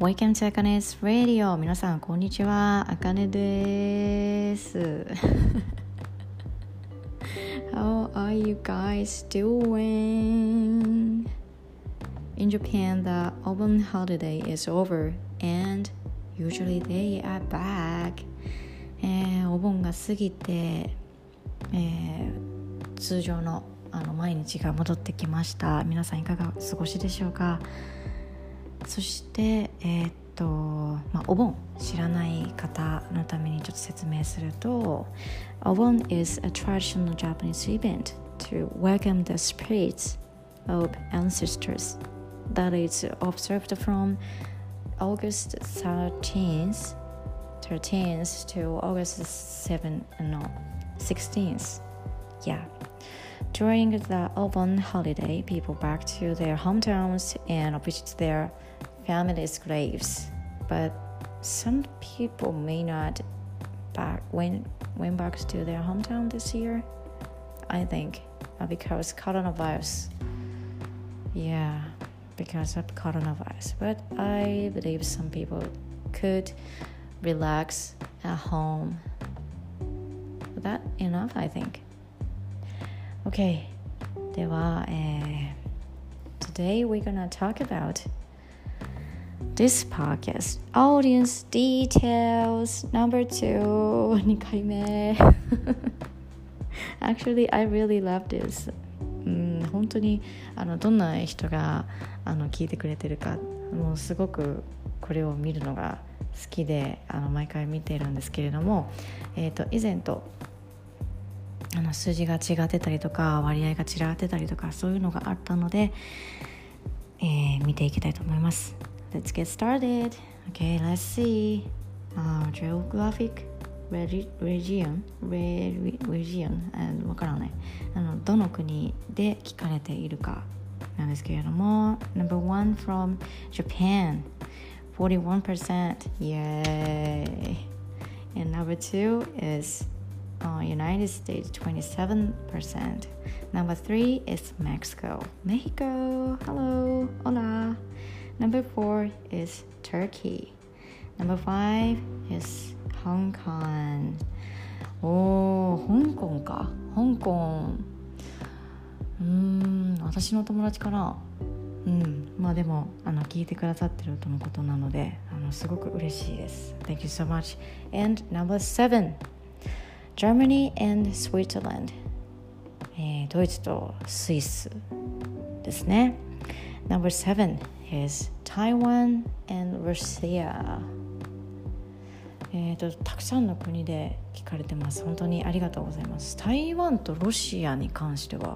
Welcome to Akane's Radio. 皆さんこんにちは、あかねです。How are you guys doing? In Japan, the Obon holiday is over and usually they are back. お盆が過ぎて、通常の毎日が戻ってきました。皆さんいかがお過ごしでしょうか。そしてお盆知らない方のためにちょっと説明すると、お盆 is a traditional Japanese event to welcome the spirits of ancestors that is observed from August 13th to August 16th. During the Obon holiday, people back to their hometowns and visit their family's graves. But some people may not went back to their hometown this year, I think, because coronavirus. Yeah, because of coronavirus. But I believe some people could relax at home. That enough, I think. Okay, では、today we're gonna talk about this podcast audience details number 2 回目Actually, I really love this. 本当にどんな人が聞いてくれてるか、もうすごくこれを見るのが好きで毎回見ているんですけれども、以前と数字が違ってたりとか割合が違ってたりとかそういうのがあったので、見ていきたいと思います。Let's get started. Okay, let's see. Geographic region わからない。どの国で聞かれているかなんですけれども、Number 1 from Japan, 41%. Yay! And number 2 is United States, 27%. Number 3 is Mexico. Hello, hola. Number 4 is Turkey. Number 5 is Hong Kong. 香港か。香港。私の友達かな。まあでも聞いてくださってるとのことなのですごく嬉しいです。Thank you so much. And number 7, Germany and Switzerland. ドイツとスイスですね。Number 7 is Taiwan and Russia. たくさんの国で聞かれてます。本当にありがとうございます。台湾とロシアに関しては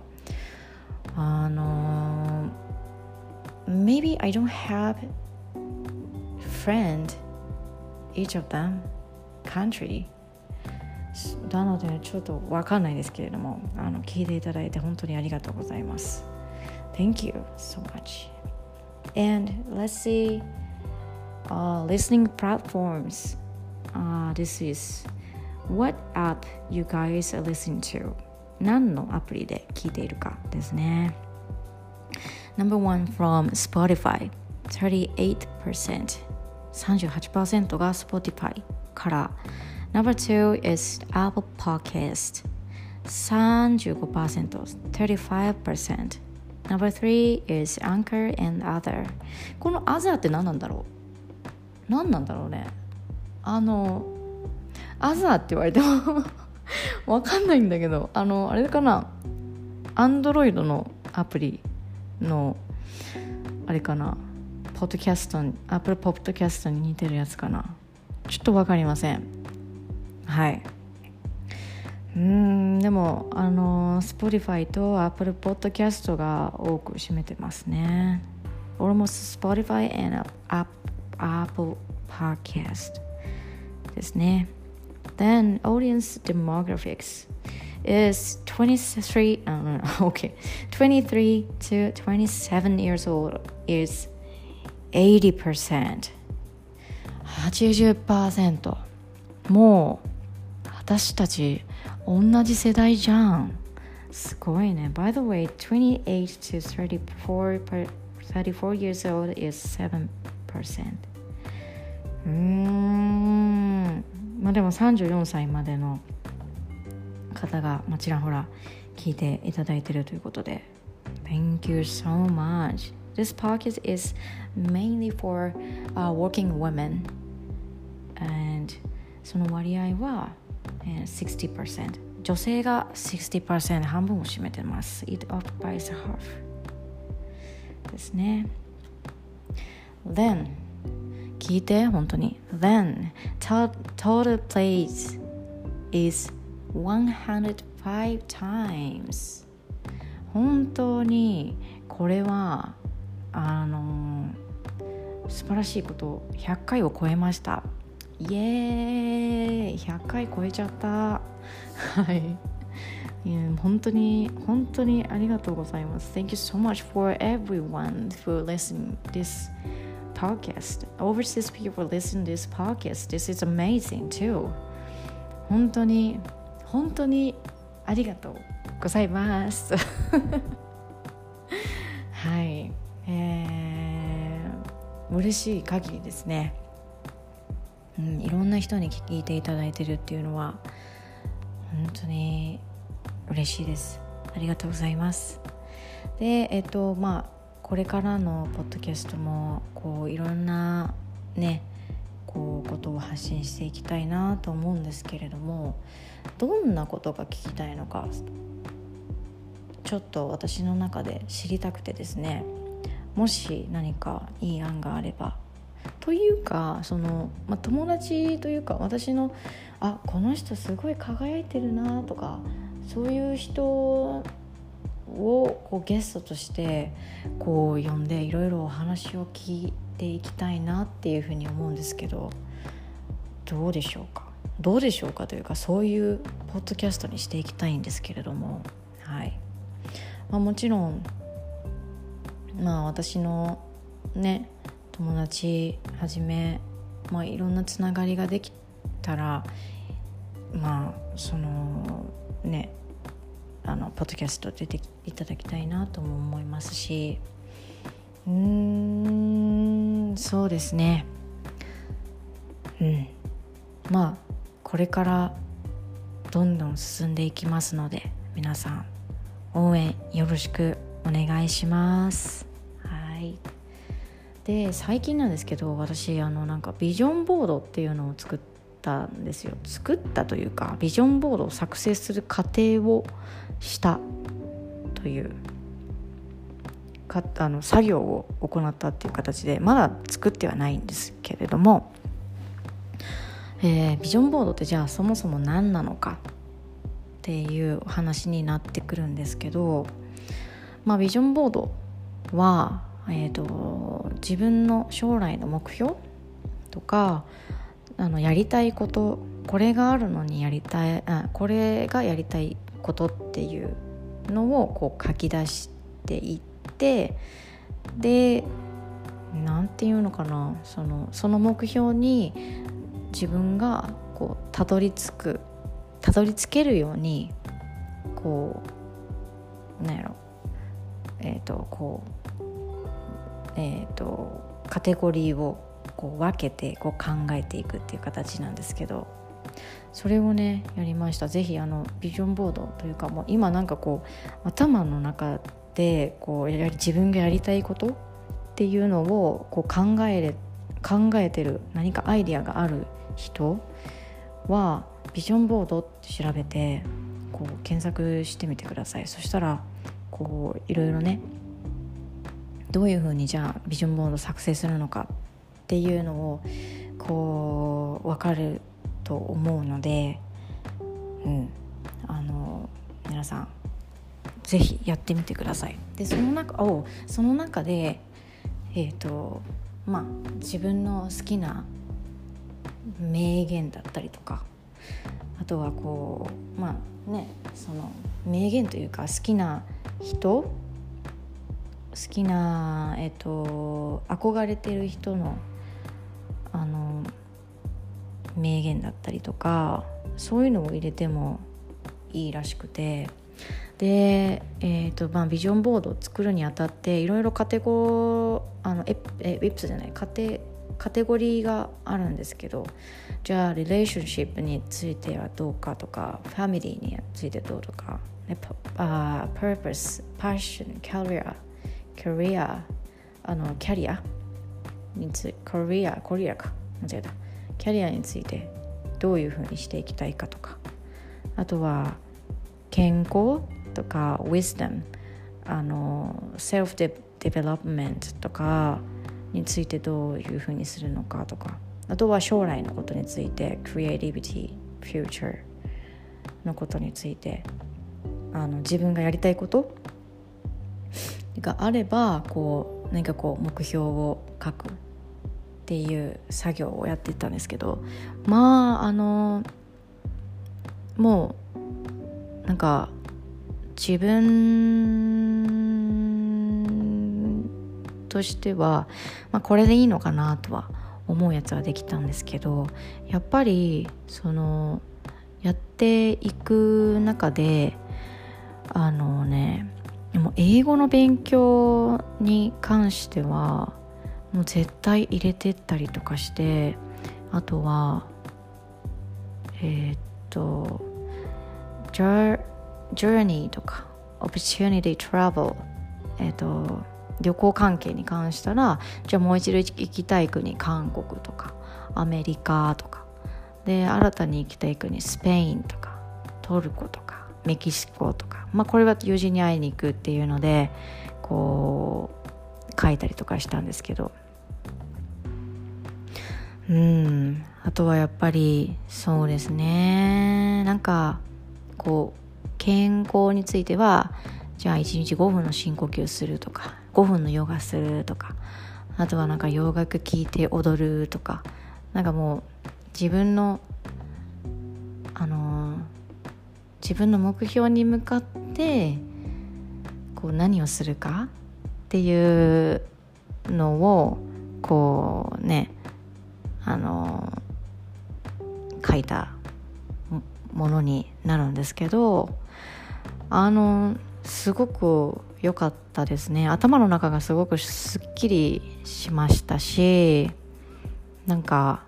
maybe I don't have friend each of them country なのでちょっとわかんないですけれども聞いていただいて本当にありがとうございます。 Thank you so much. And let's see listening platforms. This is what app you guys are listening to. 何のアプリで聞いているかですね。Number 1 from Spotify, 38%. 38% が Spotify から。Number 2 is Apple Podcast, 35%, 35%. Number 3 is Anchor and Other. この Other って何なんだろうね。Other って言われてもわかんないんだけど、あれかな、Android のアプリのあれかな、ポッドキャスト、Apple ポッドキャストに似てるやつかな。ちょっとわかりません。はい。でもSpotify と Apple Podcast が多く占めてますね。Almost Spotify and Apple Podcast ですね。Then audience demographics is 23 to 27 years old is 80%. 80%。もう私たち同じ世代じゃん。すごいね。By the way, 28 to 34 years old is 7%. まあでも34歳までの方がちらほら聞いていただいているということで Thank you so much. This podcast is mainly for working women and その割合は、60% 女性が 60% 半分を占めてます It occupies half ですね。 Then 聞いて本当に Then total plays is 105 times 本当にこれは素晴らしいこと100回を超えました。イエーイ100回超えちゃったはい本当にありがとうございます。 Thank you so much for everyone who listen this podcast. Overseas people listen this podcast. This is amazing too. 本当にありがとうございますはい、嬉しい限りですね。いろんな人に聞いていただいてるっていうのは本当に嬉しいです。ありがとうございます。でこれからのポッドキャストもいろんなねことを発信していきたいなと思うんですけれども、どんなことが聞きたいのかちょっと私の中で知りたくてですね、もし何かいい案があればというか友達というか私のこの人すごい輝いてるなとかそういう人をゲストとして呼んでいろいろお話を聞いていきたいなっていうふうに思うんですけど、どうでしょうかというかそういうポッドキャストにしていきたいんですけれども、はい、もちろん私のね友達はじめ、いろんなつながりができたらそのねポッドキャスト出ていただきたいなとも思いますし、そうですね、これからどんどん進んでいきますので皆さん応援よろしくお願いします。はい。で最近なんですけど私ビジョンボードっていうのを作ったんですよ。作ったというかビジョンボードを作成する過程をしたという作業を行ったっていう形でまだ作ってはないんですけれども、ビジョンボードってじゃあそもそも何なのかっていう話になってくるんですけど、ビジョンボードは、自分の将来の目標とかやりたいことこれがあるのにこれがやりたいことっていうのを書き出していってでなんていうのかなその目標に自分がたどり着けるようにカテゴリーを分けて考えていくっていう形なんですけど、それをねやりました。ぜひビジョンボードというかもう今頭の中で自分がやりたいことっていうのを考えてる何かアイディアがある人はビジョンボードって調べて検索してみてください。そしたらいろいろねどういうふうにじゃあビジョンボード作成するのかっていうのを分かると思うので、皆さんぜひやってみてください。でその中で自分の好きな名言だったりとか、あとはその名言というか好きな人憧れてる人の名言だったりとかそういうのを入れてもいいらしくて、で、ビジョンボードを作るにあたっていろいろカテゴリーカテゴリーがあるんですけど、じゃあリレーションシップについてはどうかとか、ファミリーについてどうとか、purpose、passion、キャリア、キャリアについて、コリアか間違えた、キャリアについてどういうふうにしていきたいかとか、あとは健康とか wisdom、セルフデベロップメントとかについてどういうふうにするのかとか、あとは将来のことについて creativity、future のことについて、自分がやりたいことがあれば何か目標を書くっていう作業をやっていったんですけど、もうなんか自分としては、これでいいのかなとは思うやつはできたんですけど、やっぱりやっていく中ででも英語の勉強に関してはもう絶対入れてったりとかして、あとはジャーニーとか opportunity travel、旅行関係に関したら、じゃあもう一度行きたい国韓国とかアメリカとかで、新たに行きたい国スペインとかトルコとかメキシコとか、これは友人に会いに行くっていうので書いたりとかしたんですけど、あとはやっぱりそうですね、なんか健康については、じゃあ1日5分の深呼吸するとか、5分のヨガするとか、あとはなんか洋楽聴いて踊るとか、なんかもう自分の目標に向かって何をするかっていうのを書いたものになるんですけど、すごく良かったですね。頭の中がすごくすっきりしましたし、なんか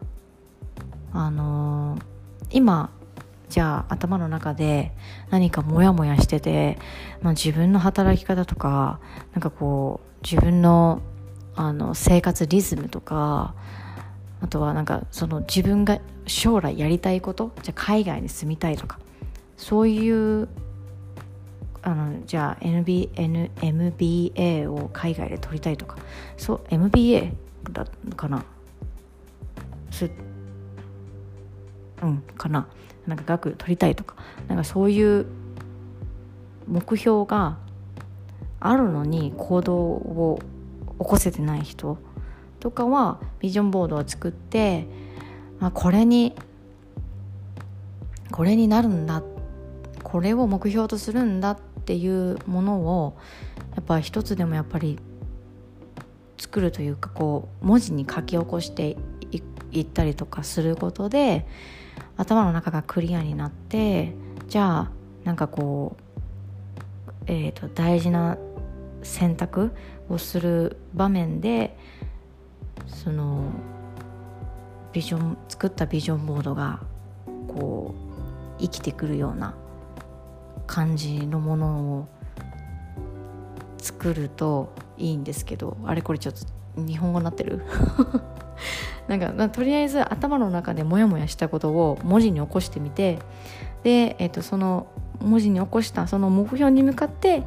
今じゃあ頭の中で何かモヤモヤしてて、自分の働き方とか、なんか自分の生活リズムとか、あとはなんか自分が将来やりたいこと、じゃあ海外に住みたいとか、そういうじゃあ MBA を海外で取りたいとか、そう MBA だかな、かな、なんか学取りたいとか、なんかそういう目標があるのに行動を起こせてない人とかはビジョンボードを作って、これになるんだ、これを目標とするんだっていうものをやっぱ一つでもやっぱり作るというか、文字に書き起こしていったりとかすることで、頭の中がクリアになって、じゃあなんか大事な選択をする場面で、作ったビジョンボードが生きてくるような感じのものを作るといいんですけど、あれこれちょっと日本語になってるなんかとりあえず頭の中でモヤモヤしたことを文字に起こしてみて、で、その文字に起こしたその目標に向かって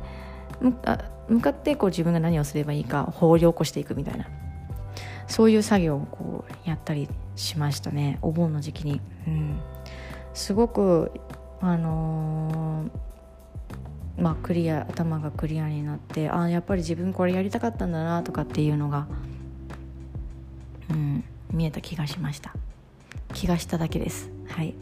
自分が何をすればいいか掘り起こしていくみたいな、そういう作業をやったりしましたね、お盆の時期に。すごく頭がクリアになって、やっぱり自分これやりたかったんだなとかっていうのが、見えた気がしました。気がしただけです。はい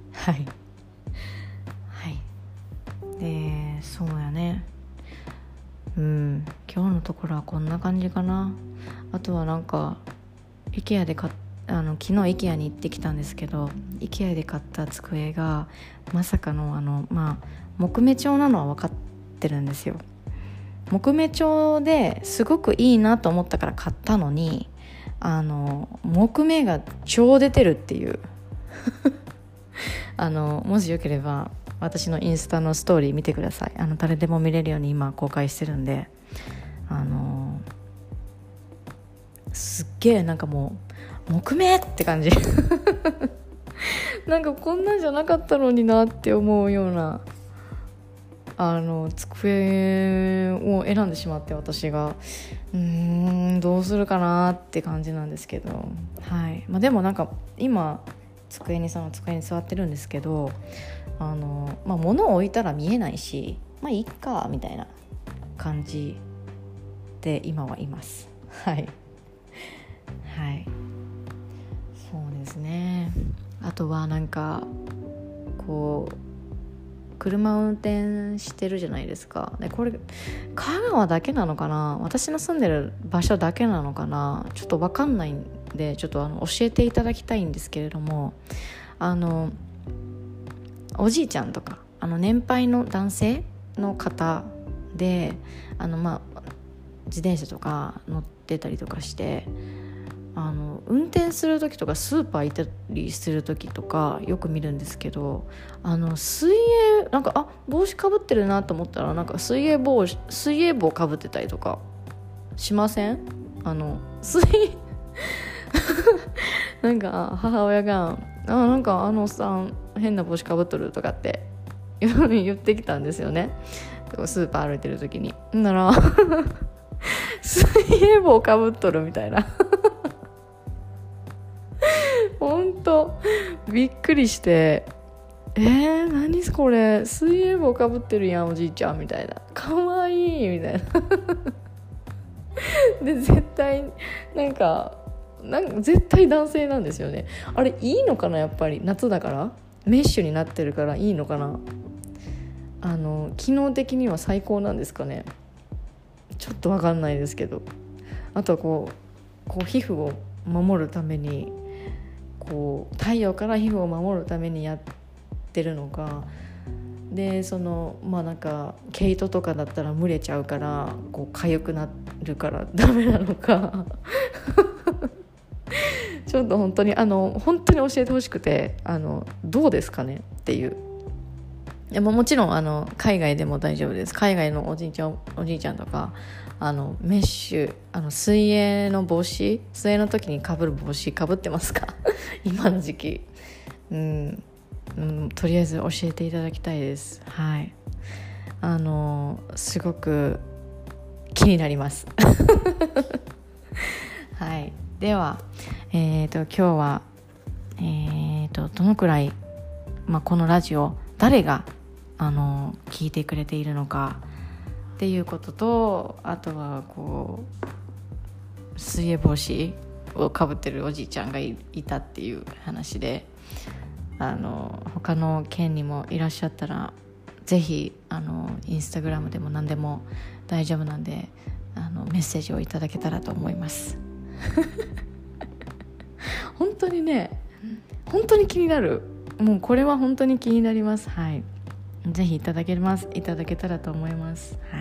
で、そうやね、今日のところはこんな感じかな。あとはなんか IKEA で昨日 IKEA に行ってきたんですけど、 IKEA で買った机がまさかの木目調なのは分かってるんですよ。木目調ですごくいいなと思ったから買ったのに、 木目が超出てるっていうもしよければ私のインスタのストーリー見てください。誰でも見れるように今公開してるんで、すっげえなんかもう木目って感じなんかこんなんじゃなかったのになって思うような机を選んでしまって、私がどうするかなって感じなんですけど、はい。でもなんか今机に座ってるんですけど、物を置いたら見えないし、いいかみたいな感じで今はいますはいはい。そうですね。あとはなんかこう車を運転してるじゃないですか。でこれ香川だけなのかな、私の住んでる場所だけなのかな、ちょっと分かんないんでちょっと教えていただきたいんですけれども、おじいちゃんとか年配の男性の方で自転車とか乗ってたりとかして、運転する時とかスーパー行ったりする時とかよく見るんですけど、水泳なんか帽子かぶってるなと思ったらなんか水泳帽かぶってたりとかしません？なんか母親がなんかおっさん変な帽子かぶっとるとかって言ってきたんですよね。スーパー歩いてる時になら水泳帽かぶっとるみたいなほんとびっくりして、何これ水泳帽かぶってるやんおじいちゃんみたいな、かわいいみたいなで絶対なんか絶対男性なんですよね。あれいいのかな、やっぱり夏だからメッシュになってるからいいのかな、機能的には最高なんですかね、ちょっと分かんないですけど、あとはこう皮膚を守るために太陽から皮膚を守るためにやってるのかで、なんか毛糸とかだったら蒸れちゃうから痒くなるからダメなのかちょっと本当に本当に教えてほしくて、どうですかねっていう。いやもちろん海外でも大丈夫です。海外のおじいちゃんとかメッシュ水泳の時にかぶる帽子かぶってますか今の時期、とりあえず教えていただきたいです。はい。すごく気になりますはい。では今日はどのくらい、このラジオ誰が聞いてくれているのかっていうことと、あとは水泳帽子をかぶってるおじいちゃんがいたっていう話で、他の県にもいらっしゃったらぜひインスタグラムでも何でも大丈夫なんでメッセージをいただけたらと思います本当にね、本当に気になる。もうこれは本当に気になります。はい。ぜひいただけたらと思います。はい。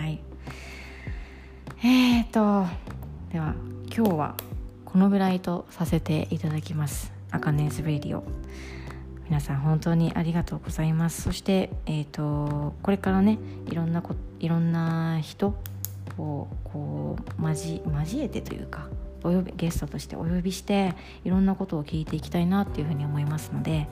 では今日はこのぐらいとさせていただきます。あかねずレディオ。皆さん本当にありがとうございます。そしてこれからねいろんな人を交えてというかゲストとしてお呼びしていろんなことを聞いていきたいなっていうふうに思いますので、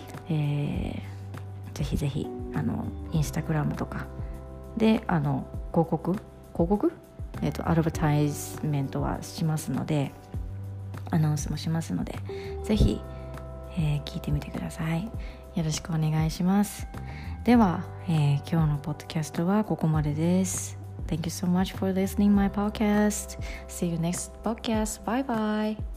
ぜひぜひインスタグラムとかで広告アドバタイズメントはしますので、アナウンスもしますので、ぜひ、聞いてみてください。よろしくお願いします。では、今日のポッドキャストはここまでです。Thank you so much for listening my podcast. See you next podcast. Bye bye.